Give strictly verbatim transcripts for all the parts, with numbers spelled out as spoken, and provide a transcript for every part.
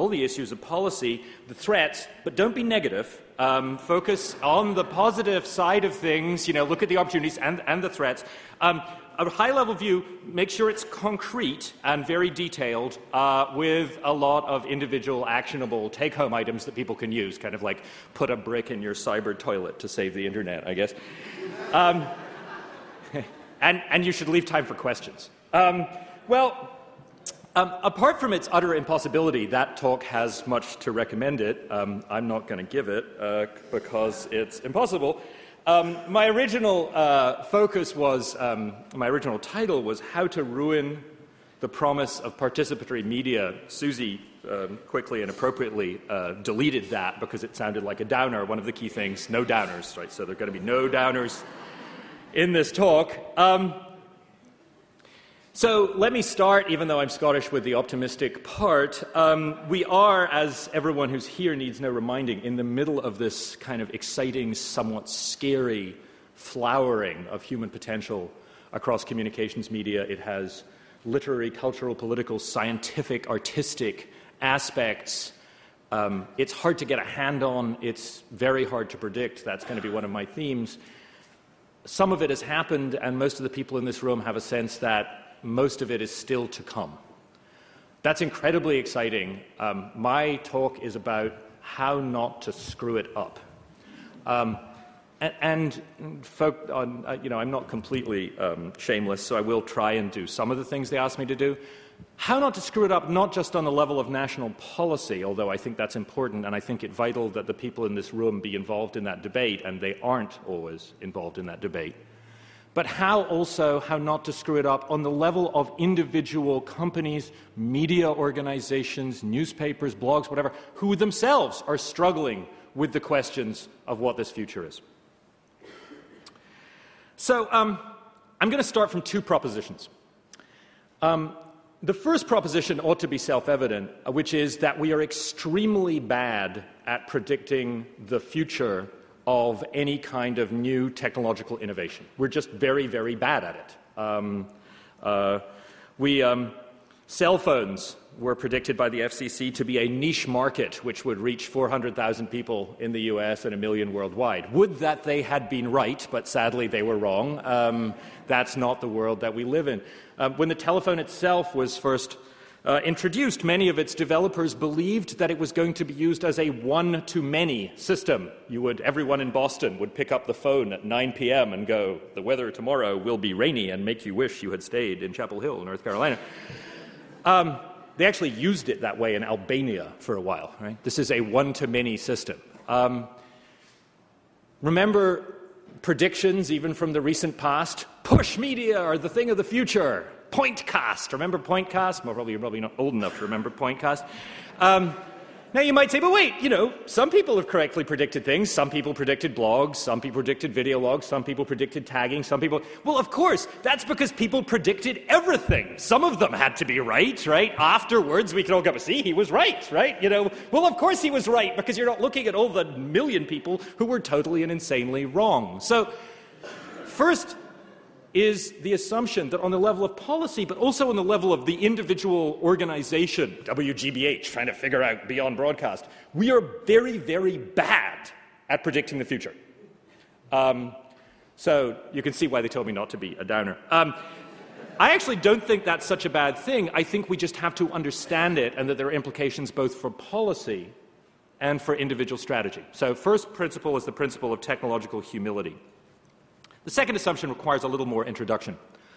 all the issues of policy, the threats, but don't be negative. Um, focus on the positive side of things, you know, look at the opportunities and, and the threats. Um, a high-level view, make sure it's concrete and very detailed uh, with a lot of individual actionable take-home items that people can use, kind of like put a brick in your cyber toilet to save the internet, I guess. Um, and, and you should leave time for questions. Um, well, um, apart from its utter impossibility, that talk has much to recommend it. Um, I'm not going to give it uh, because it's impossible. Um, my original uh, focus was, um, my original title was How to Ruin the Promise of Participatory Media. Susie um, quickly and appropriately uh, deleted that because it sounded like a downer. One of the key things, no downers, right? So there are going to be no downers in this talk. Um, So let me start, even though I'm Scottish, with the optimistic part. Um, we are, as everyone who's here needs no reminding, in the middle of this kind of exciting, somewhat scary flowering of human potential across communications media. It has literary, cultural, political, scientific, artistic aspects. Um, it's hard to get a hand on. It's very hard to predict. That's going to be one of my themes. Some of it has happened, and most of the people in this room have a sense that most of it is still to come. That's incredibly exciting. Um, my talk is about how not to screw it up. Um, and, and folk, on, uh, you know, I'm not completely um, shameless, so I will try and do some of the things they asked me to do. How not to screw it up, not just on the level of national policy, although I think that's important, and I think it vital that the people in this room be involved in that debate, and they aren't always involved in that debate. But how also, how not to screw it up on the level of individual companies, media organizations, newspapers, blogs, whatever, who themselves are struggling with the questions of what this future is. So um, I'm going to start from two propositions. Um, the first proposition ought to be self-evident, which is that we are extremely bad at predicting the future of any kind of new technological innovation. We're just very, very bad at it. Um, uh, we, um, cell phones were predicted by the F C C to be a niche market which would reach four hundred thousand people in the U S and a million worldwide. Would that they had been right, but sadly they were wrong. Um, that's not the world that we live in. Uh, when the telephone itself was first Uh, introduced, many of its developers believed that it was going to be used as a one-to-many system. You would, everyone in Boston would pick up the phone at nine p.m. and go, "The weather tomorrow will be rainy," and make you wish you had stayed in Chapel Hill, North Carolina. Um, they actually used it that way in Albania for a while. Right? This is a one-to-many system. Um, remember predictions, even from the recent past? Push media are the thing of the future. Pointcast. Remember Pointcast? Well, probably you're probably not old enough to remember Pointcast. Um, now you might say, but wait, you know, some people have correctly predicted things. Some people predicted blogs. Some people predicted video logs. Some people predicted tagging. Some people... Well, of course, that's because people predicted everything. Some of them had to be right, right? Afterwards, we can all go, see, he was right, right? You know, well, of course he was right, because you're not looking at all the million people who were totally and insanely wrong. So, first is the assumption that on the level of policy, but also on the level of the individual organization, W G B H, trying to figure out beyond broadcast, we are very, very bad at predicting the future. Um, so you can see why they told me not to be a downer. Um, I actually don't think that's such a bad thing. I think we just have to understand it, and that there are implications both for policy and for individual strategy. So first principle is the principle of technological humility. The second assumption requires a little more introduction.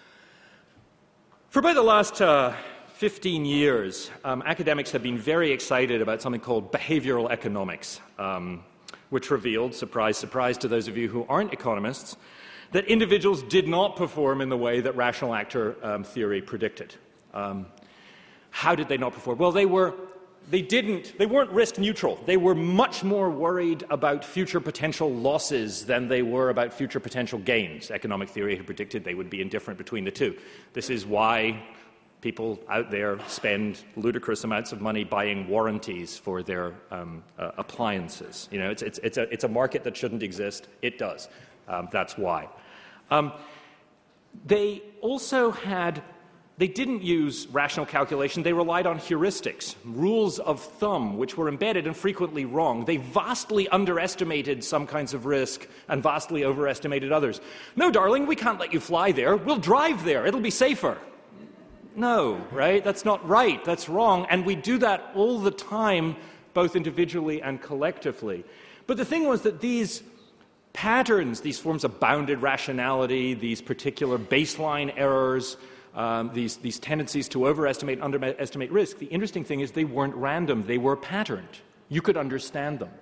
For about the last uh, fifteen years, um, academics have been very excited about something called behavioral economics, um, which revealed, surprise, surprise to those of you who aren't economists, that individuals did not perform in the way that rational actor um, theory predicted. Um, how did they not perform? Well, they were They didn't, they weren't risk neutral. They were much more worried about future potential losses than they were about future potential gains. Economic theory had predicted they would be indifferent between the two. This is why people out there spend ludicrous amounts of money buying warranties for their um, uh, appliances. You know, it's, it's, it's, a, it's a market that shouldn't exist. It does. Um, that's why. Um, they also had They didn't use rational calculation. They relied on heuristics, rules of thumb, which were embedded and frequently wrong. They vastly underestimated some kinds of risk and vastly overestimated others. No, darling, we can't let you fly there. We'll drive there. It'll be safer. No, right? That's not right. That's wrong. And we do that all the time, both individually and collectively. But the thing was that these patterns, these forms of bounded rationality, these particular baseline errors, Um, these, these tendencies to overestimate and underestimate risk, the interesting thing is they weren't random, they were patterned. You could understand them.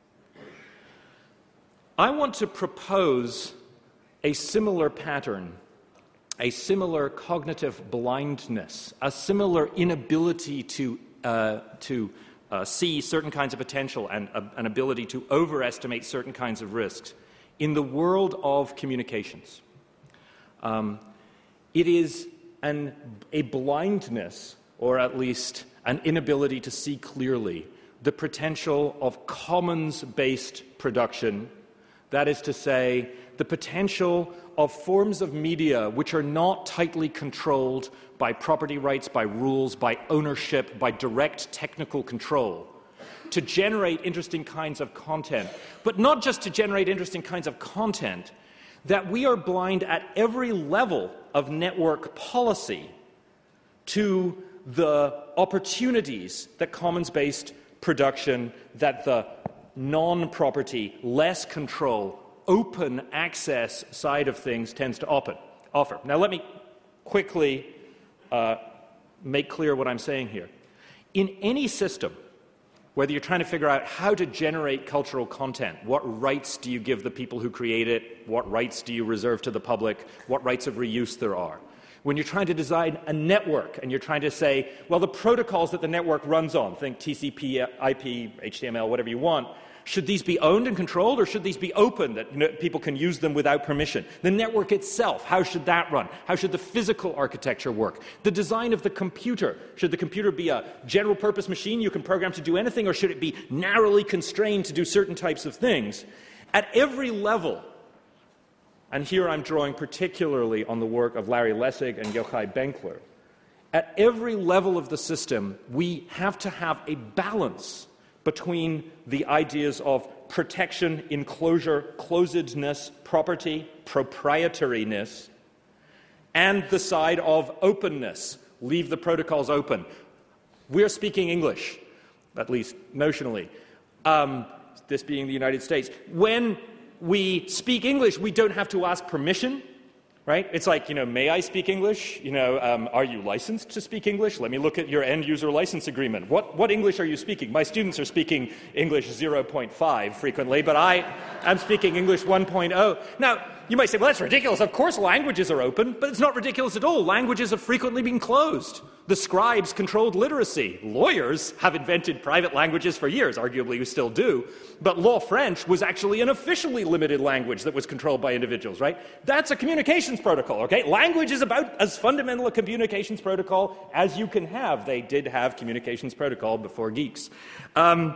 I want to propose a similar pattern, a similar cognitive blindness, a similar inability to, uh, to uh, see certain kinds of potential and uh, an ability to overestimate certain kinds of risks in the world of communications. Um, it is And a blindness, or at least an inability to see clearly, the potential of commons-based production. That is to say, the potential of forms of media which are not tightly controlled by property rights, by rules, by ownership, by direct technical control, to generate interesting kinds of content. But not just to generate interesting kinds of content, that we are blind at every level of network policy to the opportunities that commons-based production, that the non-property, less control, open access side of things tends to open, offer. Now let me quickly uh, make clear what I'm saying here. In any system, whether you're trying to figure out how to generate cultural content, what rights do you give the people who create it, what rights do you reserve to the public, what rights of reuse there are. When you're trying to design a network and you're trying to say, well, the protocols that the network runs on, think T C P, I P, H T M L, whatever you want, should these be owned and controlled, or should these be open, that you know, people can use them without permission? The network itself, how should that run? How should the physical architecture work? The design of the computer. Should the computer be a general-purpose machine you can program to do anything, or should it be narrowly constrained to do certain types of things? At every level, and here I'm drawing particularly on the work of Larry Lessig and Yochai Benkler, at every level of the system, we have to have a balance between the ideas of protection, enclosure, closedness, property, proprietariness, and the side of openness. Leave the protocols open. We're speaking English, at least notionally, um, this being the United States. When we speak English, we don't have to ask permission. Right? It's like, you know, may I speak English? You know, um, are you licensed to speak English? Let me look at your end-user license agreement. What, what English are you speaking? My students are speaking English zero point five frequently, but I am speaking English one point oh. Now, you might say, well, that's ridiculous. Of course languages are open, but it's not ridiculous at all. Languages have frequently been closed. The scribes controlled literacy. Lawyers have invented private languages for years, arguably we still do, but Law French was actually an officially limited language that was controlled by individuals, right? That's a communications protocol, okay? Language is about as fundamental a communications protocol as you can have. They did have communications protocol before geeks. Um,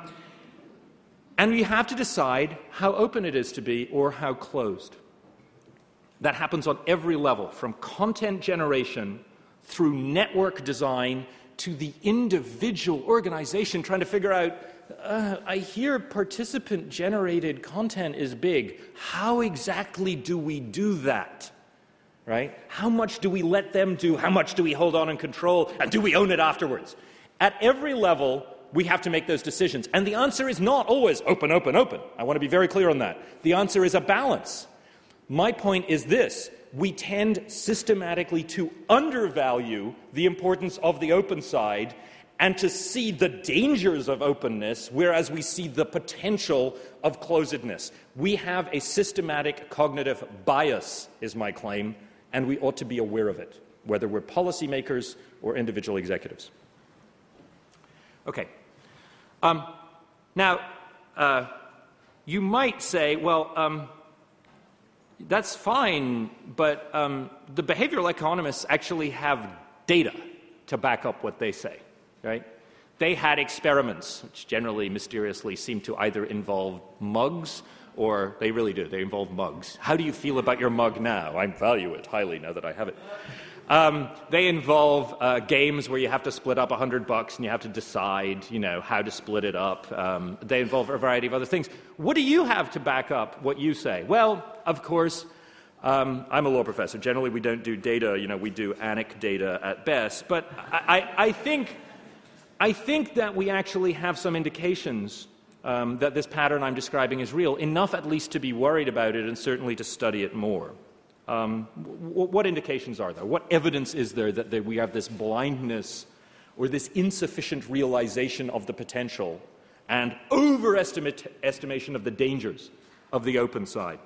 and we have to decide how open it is to be or how closed. That happens on every level, from content generation through network design to the individual organization trying to figure out, uh, I hear participant-generated content is big. How exactly do we do that? Right? How much do we let them do? How much do we hold on and control? And do we own it afterwards? At every level, we have to make those decisions. And the answer is not always open, open, open. I want to be very clear on that. The answer is a balance. My point is this. We tend systematically to undervalue the importance of the open side and to see the dangers of openness, whereas we see the potential of closedness. We have a systematic cognitive bias, is my claim, and we ought to be aware of it, whether we're policymakers or individual executives. Okay. Um, now, uh, you might say, well, um, that's fine, but um, the behavioral economists actually have data to back up what they say, right? They had experiments, which generally mysteriously seem to either involve mugs, or they really do, they involve mugs. How do you feel about your mug now? I value it highly now that I have it. Um, they involve uh, games where you have to split up a hundred bucks and you have to decide, you know, how to split it up. Um, they involve a variety of other things. What do you have to back up what you say? Well, of course, um, I'm a law professor. Generally, we don't do data. You know, we do anecdata at best. But I, I, I think, I think that we actually have some indications um, that this pattern I'm describing is real, enough at least to be worried about it and certainly to study it more. Um, w- what indications are there? What evidence is there that, that we have this blindness or this insufficient realization of the potential and overestimation of the dangers of the open side?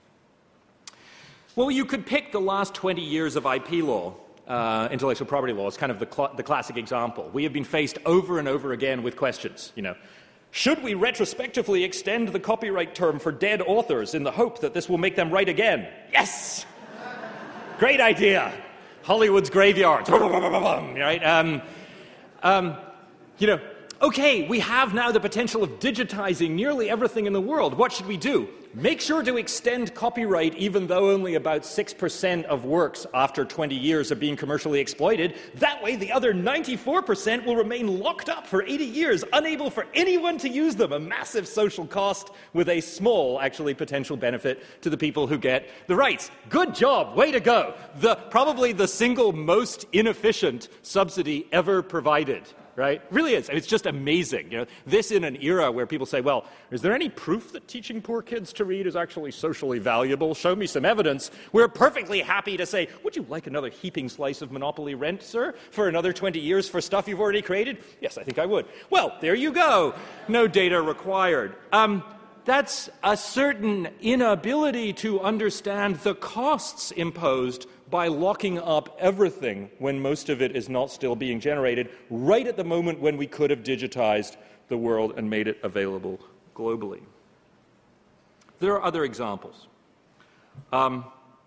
Well, you could pick the last twenty years of I P law, uh, intellectual property law, as kind of the, cl- the classic example. We have been faced over and over again with questions, you know, should we retrospectively extend the copyright term for dead authors in the hope that this will make them write again? Yes! Great idea. Hollywood's graveyards. Right? Um, um, you know, okay, we have now the potential of digitizing nearly everything in the world. What should we do? Make sure to extend copyright even though only about six percent of works after twenty years are being commercially exploited. That way the other ninety-four percent will remain locked up for eighty years, unable for anyone to use them. A massive social cost with a small, actually, potential benefit to the people who get the rights. Good job. Way to go. The, probably the single most inefficient subsidy ever provided. Right? Really is. It's just amazing. You know, this in an era where people say, well, is there any proof that teaching poor kids to read is actually socially valuable? Show me some evidence. We're perfectly happy to say, would you like another heaping slice of monopoly rent, sir, for another twenty years for stuff you've already created? Yes, I think I would. Well, there you go. No data required. Um, that's a certain inability to understand the costs imposed by locking up everything when most of it is not still being generated, right at the moment when we could have digitized the world and made it available globally. There are other examples. Um,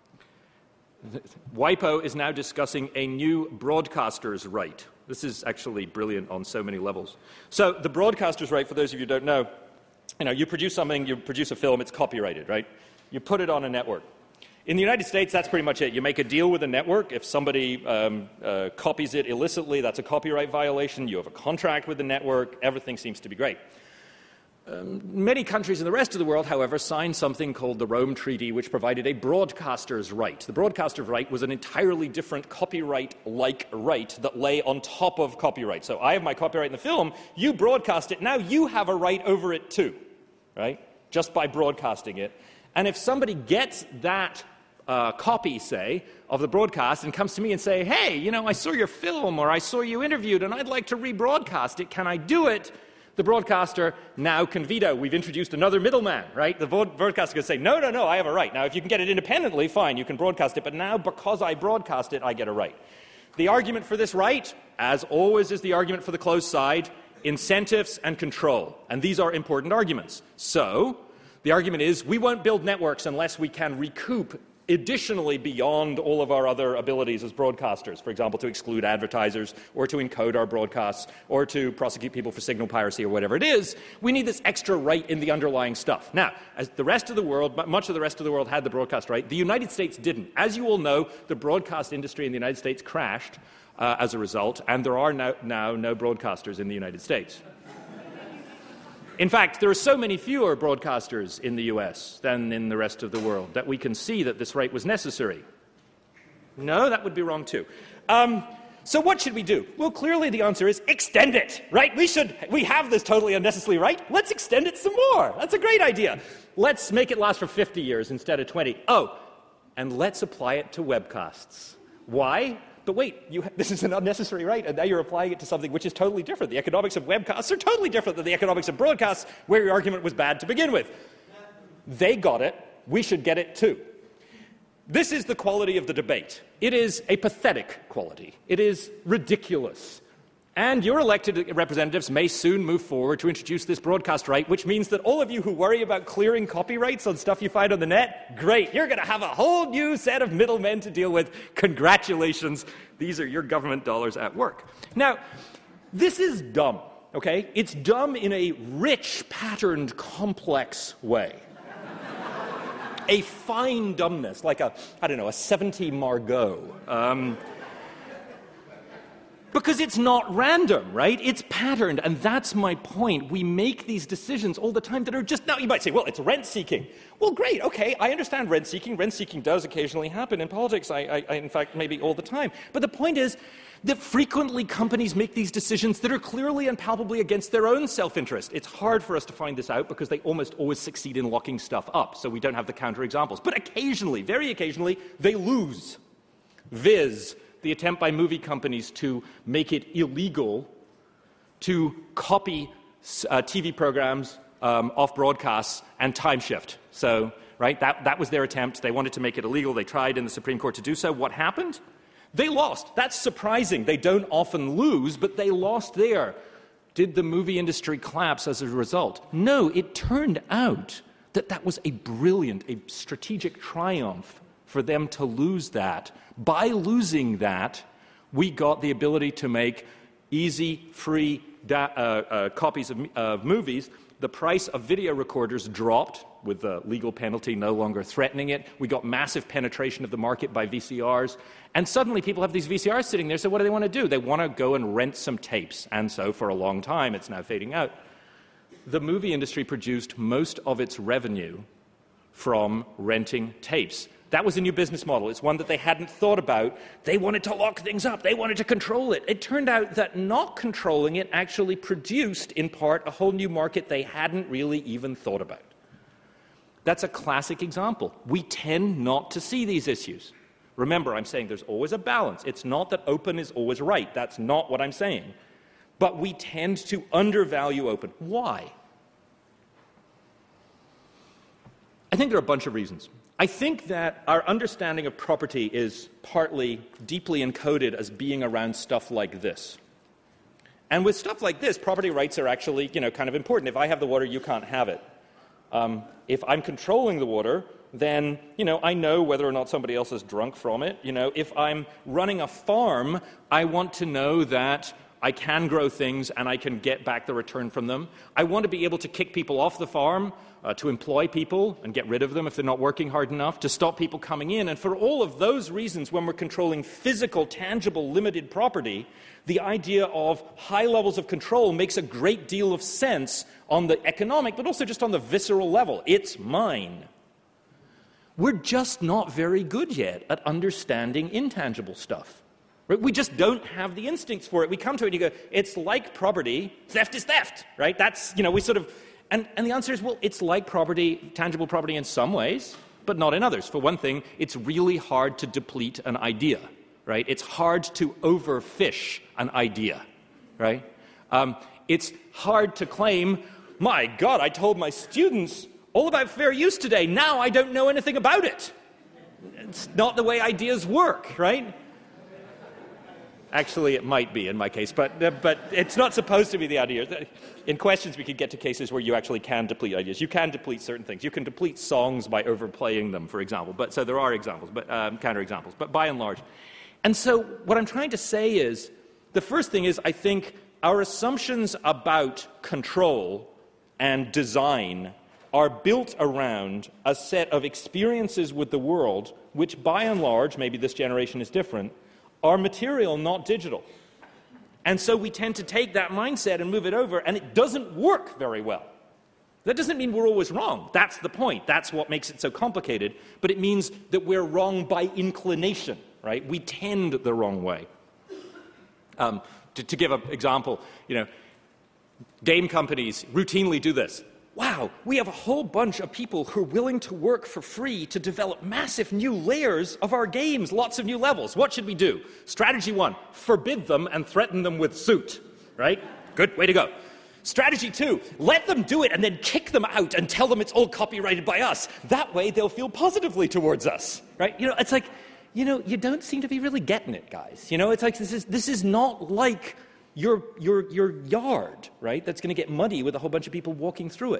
WIPO is now discussing a new broadcaster's right. This is actually brilliant on so many levels. So the broadcaster's right, for those of you who don't know, you know, you produce something, you produce a film, it's copyrighted, right? You put it on a network. In the United States, that's pretty much it. You make a deal with a network. If somebody um, uh, copies it illicitly, that's a copyright violation. You have a contract with the network. Everything seems to be great. Um, many countries in the rest of the world, however, signed something called the Rome Treaty, which provided a broadcaster's right. The broadcaster's right was an entirely different copyright-like right that lay on top of copyright. So I have my copyright in the film. You broadcast it. Now you have a right over it too, right? Just by broadcasting it. And if somebody gets that uh, copy, say, of the broadcast and comes to me and say, hey, you know, I saw your film or I saw you interviewed and I'd like to rebroadcast it. Can I do it? The broadcaster now can veto. We've introduced another middleman, right? The broadcaster can say, no, no, no, I have a right. Now, if you can get it independently, fine, you can broadcast it. But now, because I broadcast it, I get a right. The argument for this right, as always is the argument for the closed side, incentives and control. And these are important arguments. So the argument is we won't build networks unless we can recoup additionally beyond all of our other abilities as broadcasters, for example, to exclude advertisers or to encode our broadcasts or to prosecute people for signal piracy or whatever it is. We need this extra right in the underlying stuff. Now, as the rest of the world, much of the rest of the world had the broadcast right, the United States didn't. As you all know, the broadcast industry in the United States crashed uh, as a result, and there are now, now no broadcasters in the United States. In fact, there are so many fewer broadcasters in the U S than in the rest of the world that we can see that this right was necessary. No, that would be wrong too. Um, so what should we do? Well, clearly the answer is extend it, right? We should, we have this totally unnecessary right. Let's extend it some more. That's a great idea. Let's make it last for fifty years instead of twenty. Oh, and let's apply it to webcasts. Why? But wait, you ha- this is an unnecessary right, and now you're applying it to something which is totally different. The economics of webcasts are totally different than the economics of broadcasts, where your argument was bad to begin with. They got it. We should get it too. This is the quality of the debate. It is a pathetic quality. It is ridiculous. And your elected representatives may soon move forward to introduce this broadcast right, which means that all of you who worry about clearing copyrights on stuff you find on the net, great, you're going to have a whole new set of middlemen to deal with. Congratulations. These are your government dollars at work. Now, this is dumb, okay? It's dumb in a rich, patterned, complex way. A fine dumbness, like a, I don't know, a seventy Margot. Um, Because it's not random, right? It's patterned, and that's my point. We make these decisions all the time that are just, now you might say, well, it's rent-seeking. Well, great, okay, I understand rent-seeking. Rent-seeking does occasionally happen in politics, I, I, I, in fact, maybe all the time. But the point is that frequently companies make these decisions that are clearly and palpably against their own self-interest. It's hard for us to find this out because they almost always succeed in locking stuff up, so we don't have the counterexamples. But occasionally, very occasionally, they lose. Viz, the attempt by movie companies to make it illegal to copy uh, T V programs um, off broadcasts and time shift. So, right, that, that was their attempt. They wanted to make it illegal. They tried in the Supreme Court to do so. What happened? They lost. That's surprising. They don't often lose, but they lost there. Did the movie industry collapse as a result? No, it turned out that that was a brilliant, a strategic triumph for them to lose that. By losing that, we got the ability to make easy, free da- uh, uh, copies of, of movies. The price of video recorders dropped with the legal penalty no longer threatening it. We got massive penetration of the market by V C Rs. And suddenly people have these V C Rs sitting there, so what do they want to do? They want to go and rent some tapes. And so for a long time, it's now fading out. The movie industry produced most of its revenue from renting tapes. That was a new business model. It's one that they hadn't thought about. They wanted to lock things up. They wanted to control it. It turned out that not controlling it actually produced, in part, a whole new market they hadn't really even thought about. That's a classic example. We tend not to see these issues. Remember, I'm saying there's always a balance. It's not that open is always right. That's not what I'm saying. But we tend to undervalue open. Why? I think there are a bunch of reasons. I think that our understanding of property is partly deeply encoded as being around stuff like this. And with stuff like this, property rights are actually, you know, kind of important. If I have the water, you can't have it. Um, if I'm controlling the water, then, you know, I know whether or not somebody else is drunk from it. You know, if I'm running a farm, I want to know that I can grow things and I can get back the return from them. I want to be able to kick people off the farm, uh, to employ people and get rid of them if they're not working hard enough, to stop people coming in. And for all of those reasons, when we're controlling physical, tangible, limited property, the idea of high levels of control makes a great deal of sense on the economic, but also just on the visceral level. It's mine. We're just not very good yet at understanding intangible stuff. Right? We just don't have the instincts for it. We come to it and you go, it's like property. Theft is theft, right? That's, you know, we sort of, and, and the answer is, well, it's like property, tangible property in some ways, but not in others. For one thing, it's really hard to deplete an idea, right? It's hard to overfish an idea, right? Um, it's hard to claim, my God, I told my students all about fair use today. Now I don't know anything about it. It's not the way ideas work, right? Actually, it might be in my case, but uh, but it's not supposed to be the idea. In questions, we could get to cases where you actually can deplete ideas. You can deplete certain things. You can deplete songs by overplaying them, for example. But so there are examples, but um, counterexamples. But by and large, and so what I'm trying to say is, the first thing is, I think our assumptions about control and design are built around a set of experiences with the world, which by and large, maybe this generation is different, are material, not digital. And so we tend to take that mindset and move it over, and it doesn't work very well. That doesn't mean we're always wrong. That's the point. That's what makes it so complicated. But it means that we're wrong by inclination, right? We tend the wrong way. Um, to, to give an example, you know, game companies routinely do this. Wow, we have a whole bunch of people who are willing to work for free to develop massive new layers of our games, lots of new levels. What should we do? Strategy one, forbid them and threaten them with suit, right? Good, way to go. Strategy two, let them do it and then kick them out and tell them it's all copyrighted by us. That way they'll feel positively towards us, right? You know, it's like, you know, you don't seem to be really getting it, guys. You know, it's like this is this is not like Your, your, your yard, right, that's going to get muddy with a whole bunch of people walking through it.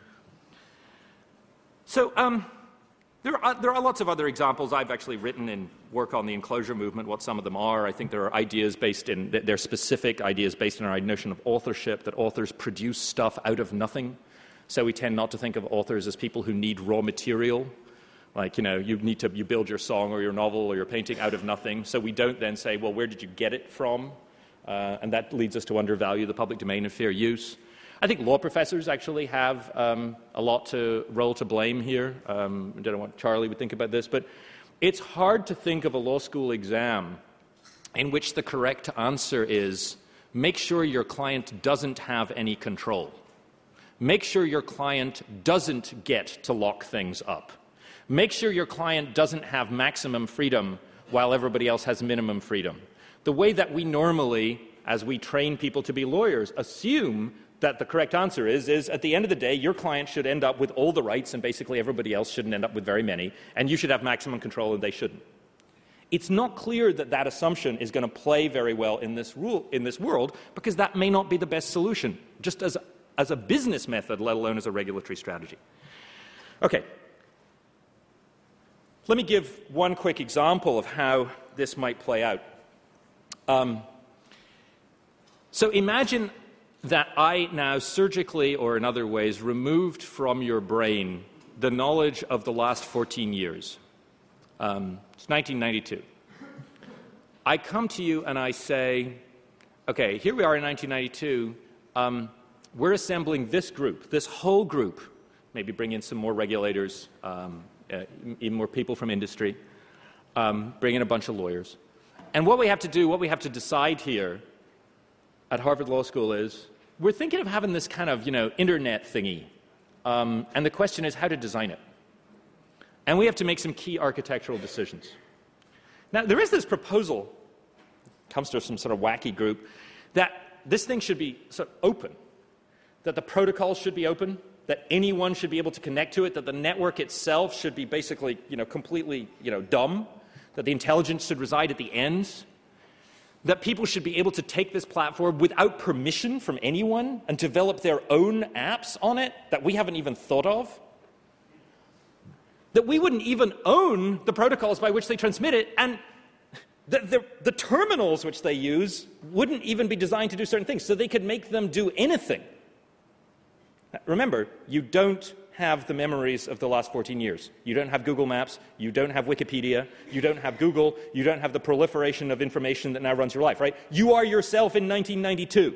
So um, there, are, there are lots of other examples. I've actually written in work on the enclosure movement what some of them are. I think there are ideas based in, they're specific ideas based on our notion of authorship, that authors produce stuff out of nothing. So we tend not to think of authors as people who need raw material. Like, you know, you need to you build your song or your novel or your painting out of nothing. So we don't then say, well, where did you get it from? Uh, and that leads us to undervalue the public domain and fair use. I think law professors actually have um, a lot to role to blame here. Um, I don't know what Charlie would think about this, but it's hard to think of a law school exam in which the correct answer is make sure your client doesn't have any control. Make sure your client doesn't get to lock things up. Make sure your client doesn't have maximum freedom while everybody else has minimum freedom. The way that we normally, as we train people to be lawyers, assume that the correct answer is, is at the end of the day, your client should end up with all the rights and basically everybody else shouldn't end up with very many, and you should have maximum control and they shouldn't. It's not clear that that assumption is going to play very well in this, rule, in this world because that may not be the best solution, just as, as a business method, let alone as a regulatory strategy. Okay. Let me give one quick example of how this might play out. Um, so imagine that I now surgically or in other ways removed from your brain the knowledge of the last fourteen years. Um, it's nineteen ninety-two. I come to you and I say, okay, here we are in nineteen ninety-two. Um, we're assembling this group, this whole group, maybe bring in some more regulators, um, uh, even more people from industry, um, bring in a bunch of lawyers. And what we have to do, what we have to decide here at Harvard Law School is, we're thinking of having this kind of, you know, internet thingy. Um, and the question is how to design it. And we have to make some key architectural decisions. Now, there is this proposal, comes to some sort of wacky group, that this thing should be sort of open, that the protocols should be open, that anyone should be able to connect to it, that the network itself should be basically, you know, completely, you know, dumb, that the intelligence should reside at the ends, that people should be able to take this platform without permission from anyone and develop their own apps on it that we haven't even thought of, that we wouldn't even own the protocols by which they transmit it, and the, the, the terminals which they use wouldn't even be designed to do certain things, so they could make them do anything. Remember, you don't have the memories of the last fourteen years. You don't have Google Maps, you don't have Wikipedia, you don't have Google, you don't have the proliferation of information that now runs your life, right? You are yourself in nineteen ninety-two.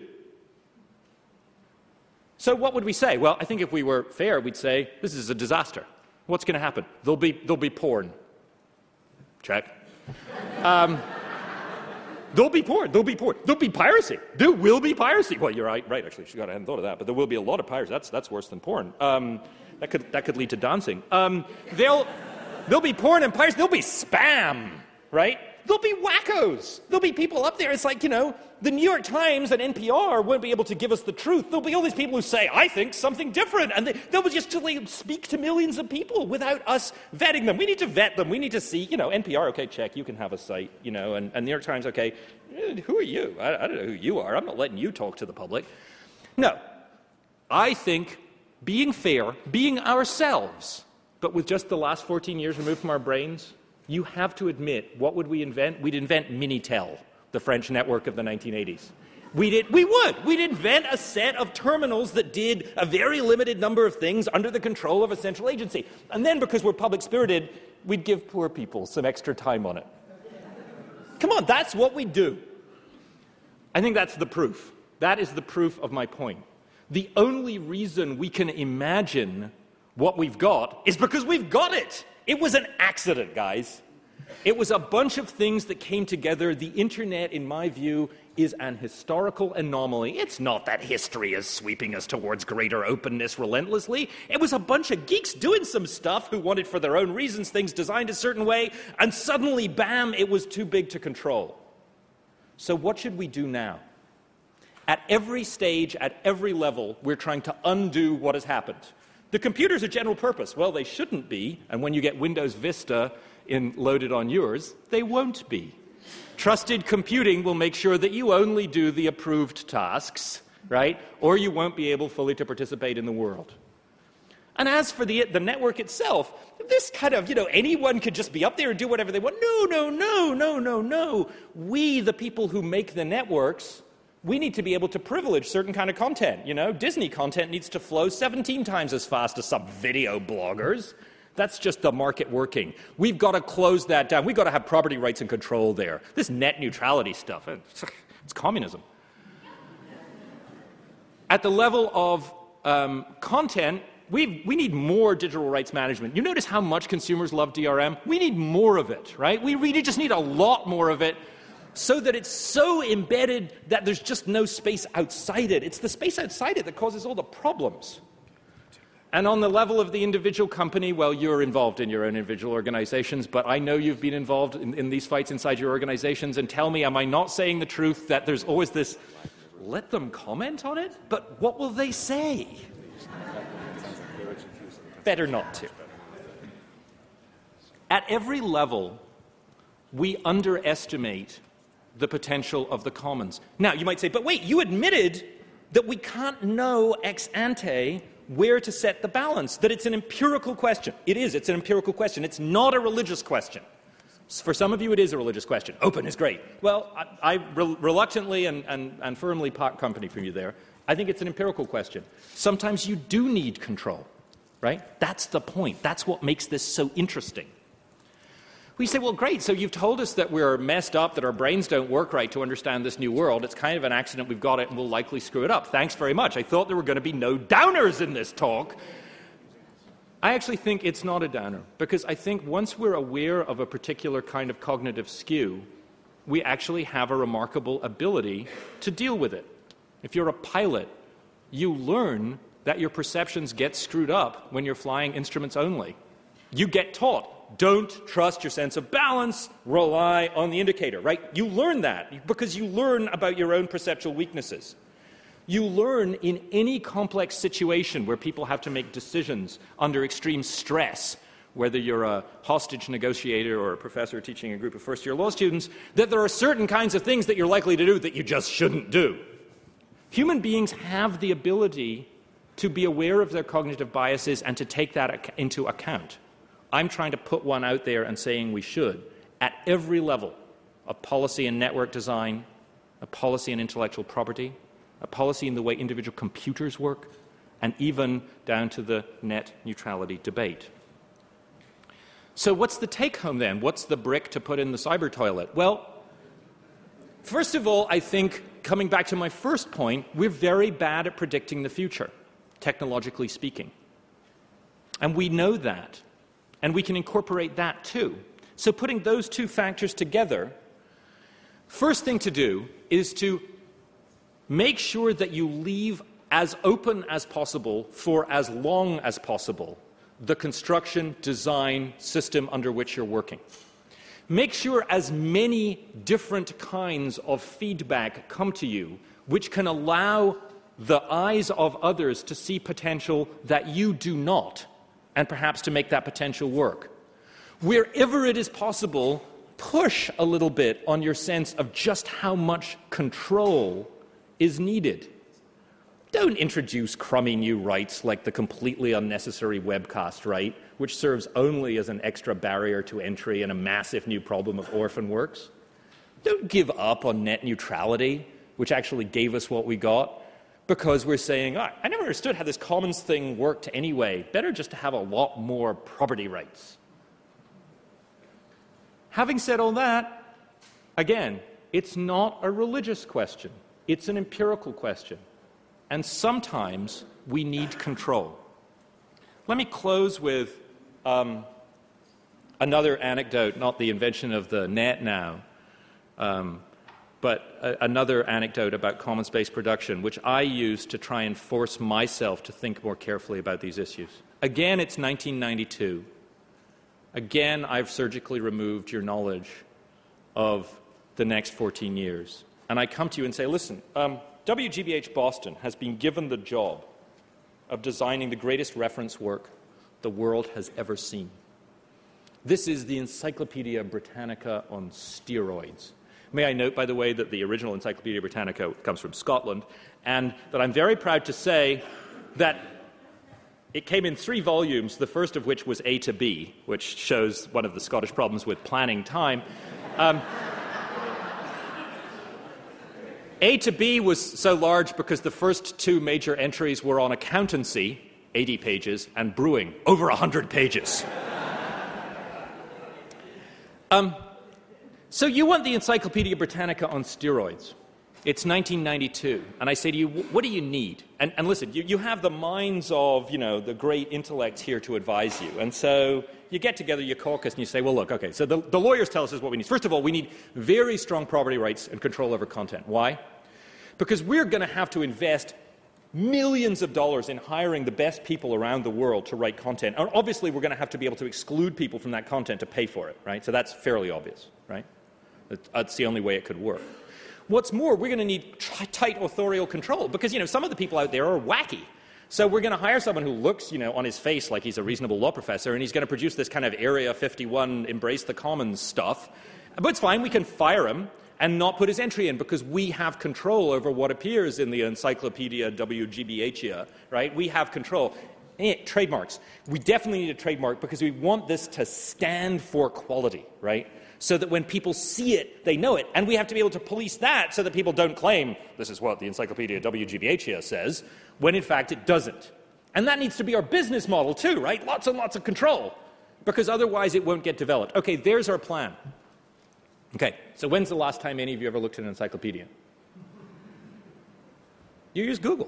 So what would we say? Well, I think if we were fair, we'd say, this is a disaster. What's going to happen? There'll be, there'll be porn. Check. Um, There'll be porn. There'll be porn. There'll be piracy. There will be piracy. Well, you're right. Right. Actually, I hadn't thought of that. But there will be a lot of piracy. That's that's worse than porn. Um, that could that could lead to dancing. Um, they'll there'll be porn and piracy. There'll be spam. Right. There'll be wackos. There'll be people up there. It's like, you know, the New York Times and N P R won't be able to give us the truth. There'll be all these people who say, I think something different. And they, they'll just speak to millions of people without us vetting them. We need to vet them. We need to see, you know, N P R, okay, check, you can have a site, you know, and, and New York Times, okay, who are you? I, I don't know who you are. I'm not letting you talk to the public. No. I think being fair, being ourselves, but with just the last fourteen years removed from our brains, you have to admit, what would we invent? We'd invent Minitel, the French network of the nineteen eighties. We did, we would. We'd invent a set of terminals that did a very limited number of things under the control of a central agency. And then, because we're public-spirited, we'd give poor people some extra time on it. Come on, that's what we do. I think that's the proof. That is the proof of my point. The only reason we can imagine what we've got is because we've got it. It was an accident, guys. It was a bunch of things that came together. The internet, in my view, is an historical anomaly. It's not that history is sweeping us towards greater openness relentlessly. It was a bunch of geeks doing some stuff who wanted, for their own reasons, things designed a certain way, and suddenly, bam, it was too big to control. So what should we do now? At every stage, at every level, we're trying to undo what has happened. The computers are general purpose. Well, they shouldn't be, and when you get Windows Vista in, loaded on yours, they won't be. Trusted computing will make sure that you only do the approved tasks, right? Or you won't be able fully to participate in the world. And as for the, the network itself, this kind of, you know, anyone could just be up there and do whatever they want. No, no, no, no, no, no. We, the people who make the networks, we need to be able to privilege certain kind of content. You know, Disney content needs to flow seventeen times as fast as some video bloggers. That's just the market working. We've got to close that down. We've got to have property rights and control there. This net neutrality stuff, It's communism. At the level of um, content, we we need more digital rights management. You notice how much consumers love D R M? We need more of it, right? We really just need a lot more of it so that it's so embedded that there's just no space outside it. It's the space outside it that causes all the problems. And on the level of the individual company, well, you're involved in your own individual organizations, but I know you've been involved in, in these fights inside your organizations, and tell me, am I not saying the truth that there's always this, let them comment on it? But what will they say? Better not to. At every level, we underestimate the potential of the commons. Now, you might say, but wait, you admitted that we can't know ex ante where to set the balance, that it's an empirical question. It is, it's an empirical question. It's not a religious question. For some of you, it is a religious question. Open is great. Well, I, I re- reluctantly and, and, and firmly part company from you there. I think it's an empirical question. Sometimes you do need control, right? That's the point. That's what makes this so interesting. We say, well, great, so you've told us that we're messed up, that our brains don't work right to understand this new world. It's kind of an accident, we've got it, and we'll likely screw it up. Thanks very much. I thought there were going to be no downers in this talk. I actually think it's not a downer, because I think once we're aware of a particular kind of cognitive skew, we actually have a remarkable ability to deal with it. If you're a pilot, you learn that your perceptions get screwed up when you're flying instruments only. You get taught. Don't trust your sense of balance, rely on the indicator, right? You learn that because you learn about your own perceptual weaknesses. You learn in any complex situation where people have to make decisions under extreme stress, whether you're a hostage negotiator or a professor teaching a group of first-year law students, that there are certain kinds of things that you're likely to do that you just shouldn't do. Human beings have the ability to be aware of their cognitive biases and to take that into account. I'm trying to put one out there and saying we should, at every level of policy and network design, a policy and intellectual property, a policy in the way individual computers work, and even down to the net neutrality debate. So what's the take-home then? What's the brick to put in the cyber toilet? Well, first of all, I think, coming back to my first point, we're very bad at predicting the future, technologically speaking. And we know that. And we can incorporate that too. So putting those two factors together, first thing to do is to make sure that you leave as open as possible for as long as possible the construction, design, system under which you're working. Make sure as many different kinds of feedback come to you which can allow the eyes of others to see potential that you do not, and perhaps to make that potential work. Wherever it is possible, push a little bit on your sense of just how much control is needed. Don't introduce crummy new rights like the completely unnecessary webcast right, which serves only as an extra barrier to entry and a massive new problem of orphan works. Don't give up on net neutrality, which actually gave us what we got, because we're saying, oh, I never understood how this commons thing worked anyway. Better just to have a lot more property rights. Having said all that, again, it's not a religious question. It's an empirical question. And sometimes we need control. Let me close with um, another anecdote, not the invention of the net now, um, but a, another anecdote about commons-based production, which I use to try and force myself to think more carefully about these issues. Again, it's nineteen ninety-two. Again, I've surgically removed your knowledge of the next fourteen years. And I come to you and say, listen, um, W G B H Boston has been given the job of designing the greatest reference work the world has ever seen. This is the Encyclopedia Britannica on steroids. May I note, by the way, that the original Encyclopedia Britannica comes from Scotland, and that I'm very proud to say that it came in three volumes, the first of which was A to B, which shows one of the Scottish problems with planning time. Um, A to B was so large because the first two major entries were on accountancy, eighty pages, and brewing, over one hundred pages. um, so you want the Encyclopedia Britannica on steroids. It's nineteen ninety-two, and I say to you, what do you need? And, and listen, you, you have the minds of, you know, the great intellects here to advise you. And so you get together, you caucus, and you say, well, look, okay, so the, the lawyers tell us this is what we need. First of all, we need very strong property rights and control over content. Why? Because we're going to have to invest millions of dollars in hiring the best people around the world to write content. And obviously, we're going to have to be able to exclude people from that content to pay for it, right? So that's fairly obvious, right? That's the only way it could work. What's more, we're going to need t- tight authorial control because, you know, some of the people out there are wacky. So we're going to hire someone who looks, you know, on his face like he's a reasonable law professor, and he's going to produce this kind of Area fifty-one, embrace the commons stuff. But it's fine, we can fire him and not put his entry in because we have control over what appears in the Encyclopedia W G B H, right? We have control. Eh, trademarks. We definitely need a trademark because we want this to stand for quality, right? So that when people see it, they know it. And we have to be able to police that so that people don't claim this is what the Encyclopedia W G B H says, when in fact it doesn't. And that needs to be our business model too, right? Lots and lots of control, because otherwise it won't get developed. Okay, there's our plan. Okay, so when's the last time any of you ever looked at an encyclopedia? You use Google.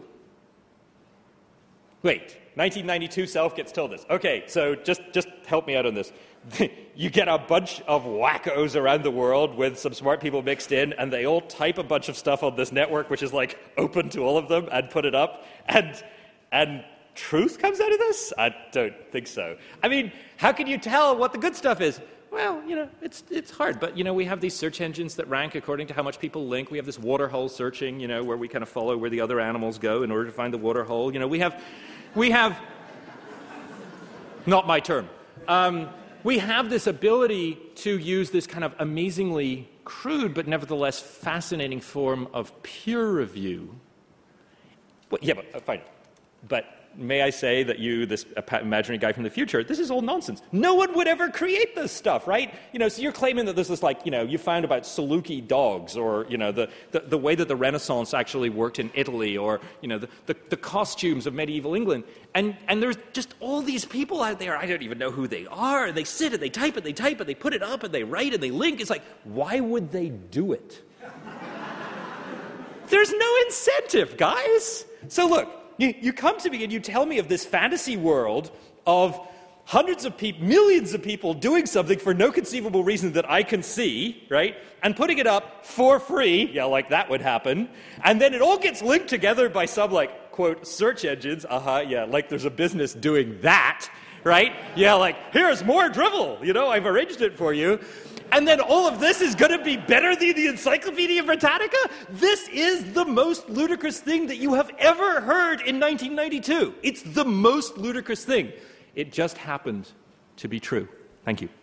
Wait, nineteen ninety-two self gets told this. Okay, so just, just help me out on this. You get a bunch of wackos around the world with some smart people mixed in, and they all type a bunch of stuff on this network, which is like open to all of them, and put it up, and and truth comes out of this? I don't think so. I mean, how can you tell what the good stuff is? Well, you know, it's it's hard, but, you know, we have these search engines that rank according to how much people link. We have this waterhole searching, you know, where we kind of follow where the other animals go in order to find the waterhole. You know, we have, we have, not my term. Um, we have this ability to use this kind of amazingly crude but nevertheless fascinating form of peer review. Well, yeah, but uh, fine. But may I say that you, this imaginary guy from the future, this is all nonsense. No one would ever create this stuff, right? You know, so you're claiming that this is like, you know, you found about Saluki dogs, or, you know, the, the, the way that the Renaissance actually worked in Italy, or, you know, the, the, the costumes of medieval England. And, and there's just all these people out there, I don't even know who they are. They sit and they type it, they type it, they put it up, and they write and they link. It's like, why would they do it? There's no incentive, guys. So look, You, you come to me and you tell me of this fantasy world of hundreds of people, millions of people doing something for no conceivable reason that I can see, right? And putting it up for free, yeah, like that would happen. And then it all gets linked together by some, like, quote, search engines. Uh-huh, yeah, like there's a business doing that, right? Yeah, like, here's more drivel, you know, I've arranged it for you. And then all of this is going to be better than the Encyclopedia Britannica? This is the most ludicrous thing that you have ever heard in nineteen ninety-two. It's the most ludicrous thing. It just happened to be true. Thank you.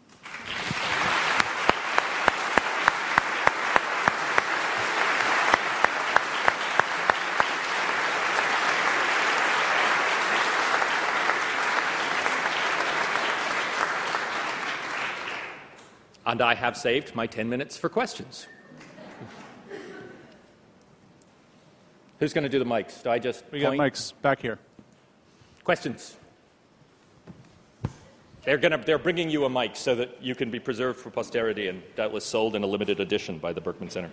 And I have saved my ten minutes for questions. Who's going to do the mics? Do I just We point? got mics back here. Questions? They're, gonna, they're bringing you a mic so that you can be preserved for posterity and doubtless sold in a limited edition by the Berkman Center.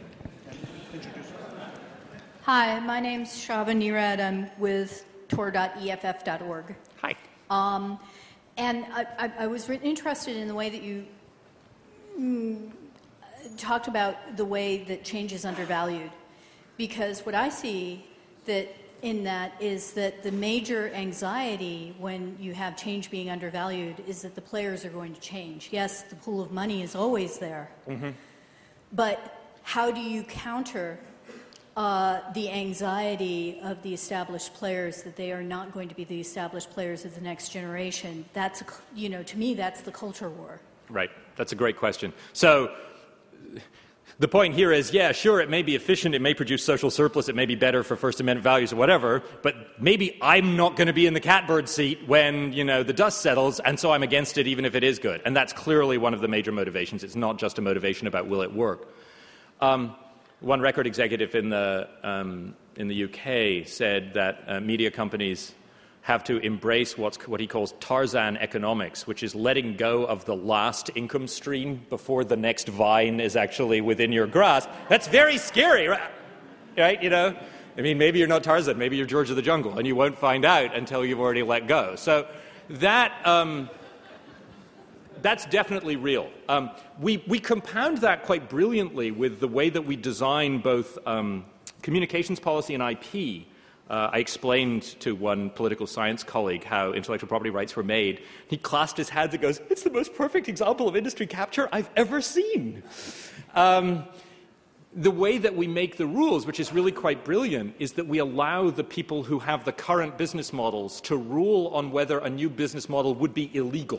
Hi, my name's Shava Nirad. I'm with tor dot E F F dot org. Hi. Um, and I, I, I was re- interested in the way that you mm, talked about the way that change is undervalued. Because what I see that in that is that the major anxiety when you have change being undervalued is that the players are going to change. Yes, the pool of money is always there. Mm-hmm. But how do you counter uh, the anxiety of the established players that they are not going to be the established players of the next generation? That's, a, you know, to me, that's the culture war. Right. That's a great question. So the point here is, yeah, sure, it may be efficient, it may produce social surplus, it may be better for First Amendment values or whatever, but maybe I'm not going to be in the catbird seat when, you know, the dust settles, and so I'm against it even if it is good. And that's clearly one of the major motivations. It's not just a motivation about will it work. Um, one record executive in the, um, in the U K said that uh, media companies have to embrace what's, what he calls Tarzan economics, which is letting go of the last income stream before the next vine is actually within your grasp. That's very scary, right? right? You know, I mean, maybe you're not Tarzan, maybe you're George of the Jungle, and you won't find out until you've already let go. So that um, that's definitely real. Um, we we compound that quite brilliantly with the way that we design both um, communications policy and I P. Uh, I explained to one political science colleague how intellectual property rights were made. He clasped his hands and goes, "It's the most perfect example of industry capture I've ever seen." Um, the way that we make the rules, which is really quite brilliant, is that we allow the people who have the current business models to rule on whether a new business model would be illegal.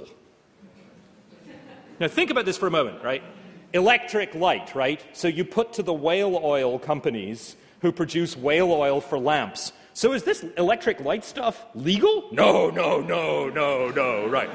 Now think about this for a moment, right? Electric light, right? So you put to the whale oil companies who produce whale oil for lamps. So is this electric light stuff legal? No, no, no, no, no, right.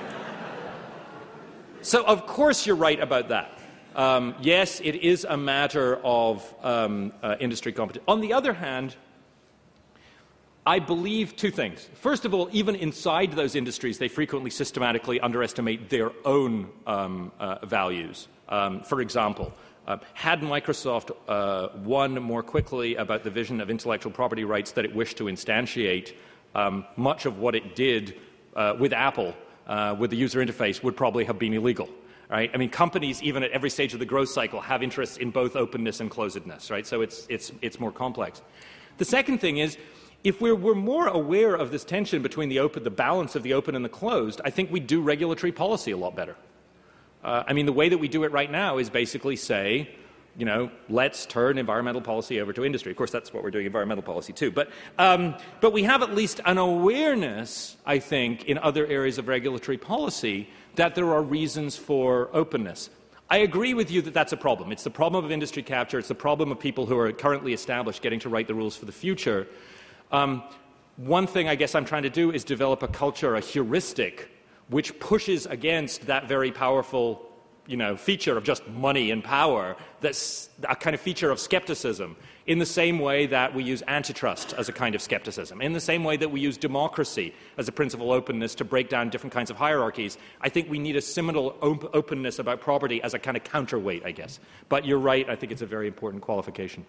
So of course you're right about that. Um, yes, it is a matter of um, uh, industry competition. On the other hand, I believe two things. First of all, even inside those industries, they frequently systematically underestimate their own um, uh, values. Um, for example, Uh, had Microsoft uh, won more quickly about the vision of intellectual property rights that it wished to instantiate, um, much of what it did uh, with Apple, uh, with the user interface, would probably have been illegal. Right? I mean, companies, even at every stage of the growth cycle, have interests in both openness and closedness. Right? So it's, it's, it's more complex. The second thing is, if we're, we're more aware of this tension between the, open, the balance of the open and the closed, I think we do regulatory policy a lot better. Uh, I mean, the way that we do it right now is basically say, you know, let's turn environmental policy over to industry. Of course, that's what we're doing environmental policy too. But, um, but we have at least an awareness, I think, in other areas of regulatory policy that there are reasons for openness. I agree with you that that's a problem. It's the problem of industry capture. It's the problem of people who are currently established getting to write the rules for the future. Um, one thing I guess I'm trying to do is develop a culture, a heuristic, which pushes against that very powerful, you know, feature of just money and power, that's a kind of feature of skepticism, in the same way that we use antitrust as a kind of skepticism, in the same way that we use democracy as a principle of openness to break down different kinds of hierarchies. I think we need a similar op- openness about property as a kind of counterweight, I guess. But you're right, I think it's a very important qualification.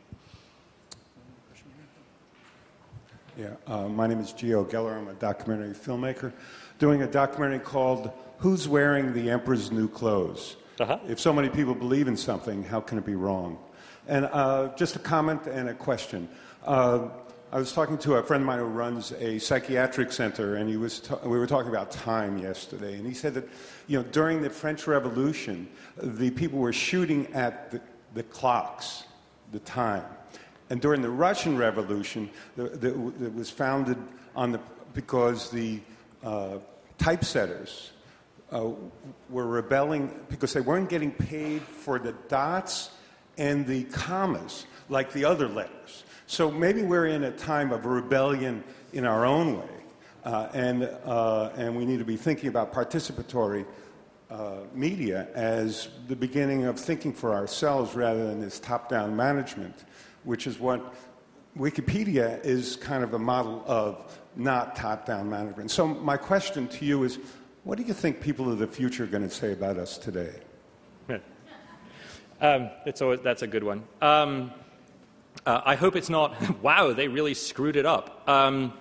Yeah, uh, my name is Gio Geller. I'm a documentary filmmaker doing a documentary called Who's Wearing the Emperor's New Clothes? Uh-huh. If so many people believe in something, how can it be wrong? And uh, just a comment and a question. Uh, I was talking to a friend of mine who runs a psychiatric center, and he was ta- we were talking about time yesterday, and he said that, you know, during the French Revolution, the people were shooting at the, the clocks, the time. And during the Russian Revolution, the, the, it was founded on the because the uh, typesetters uh, were rebelling because they weren't getting paid for the dots and the commas like the other letters. So maybe we're in a time of rebellion in our own way, uh, and uh, and we need to be thinking about participatory uh, media as the beginning of thinking for ourselves rather than this top-down management, which is what Wikipedia is kind of a model of, not top-down management. So my question to you is, what do you think people of the future are going to say about us today? Yeah. Um, it's always, that's a good one. Um, uh, I hope it's not, wow, they really screwed it up. Um,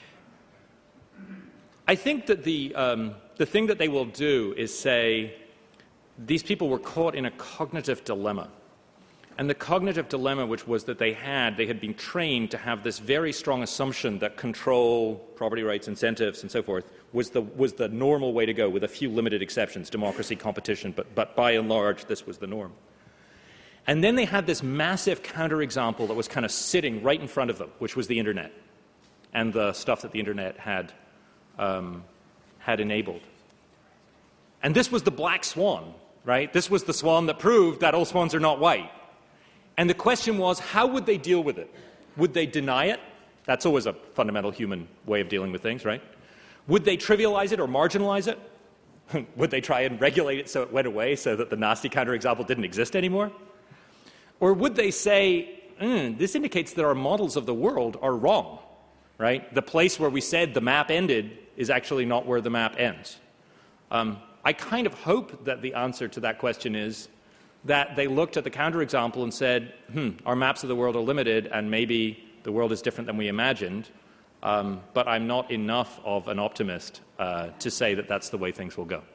I think that the, um, the thing that they will do is say, these people were caught in a cognitive dilemma. And the cognitive dilemma, which was that they had, they had been trained to have this very strong assumption that control, property rights, incentives, and so forth, was the, was the normal way to go, with a few limited exceptions, democracy, competition, but, but by and large, this was the norm. And then they had this massive counterexample that was kind of sitting right in front of them, which was the Internet, and the stuff that the Internet had, um, had enabled. And this was the black swan, right? This was the swan that proved that all swans are not white. And the question was, how would they deal with it? Would they deny it? That's always a fundamental human way of dealing with things, right? Would they trivialize it or marginalize it? Would they try and regulate it so it went away, so that the nasty counterexample didn't exist anymore? Or would they say, mm, this indicates that our models of the world are wrong, right? The place where we said the map ended is actually not where the map ends. Um, I kind of hope that the answer to that question is, that they looked at the counterexample and said, hmm, our maps of the world are limited, and maybe the world is different than we imagined, um, but I'm not enough of an optimist uh, to say that that's the way things will go.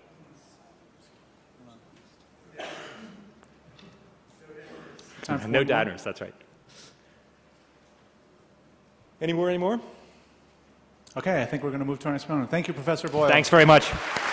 No doubters, that's right. Any more, any more? Okay, I think we're going to move to our next panel. Thank you, Professor Boyle. Thanks very much.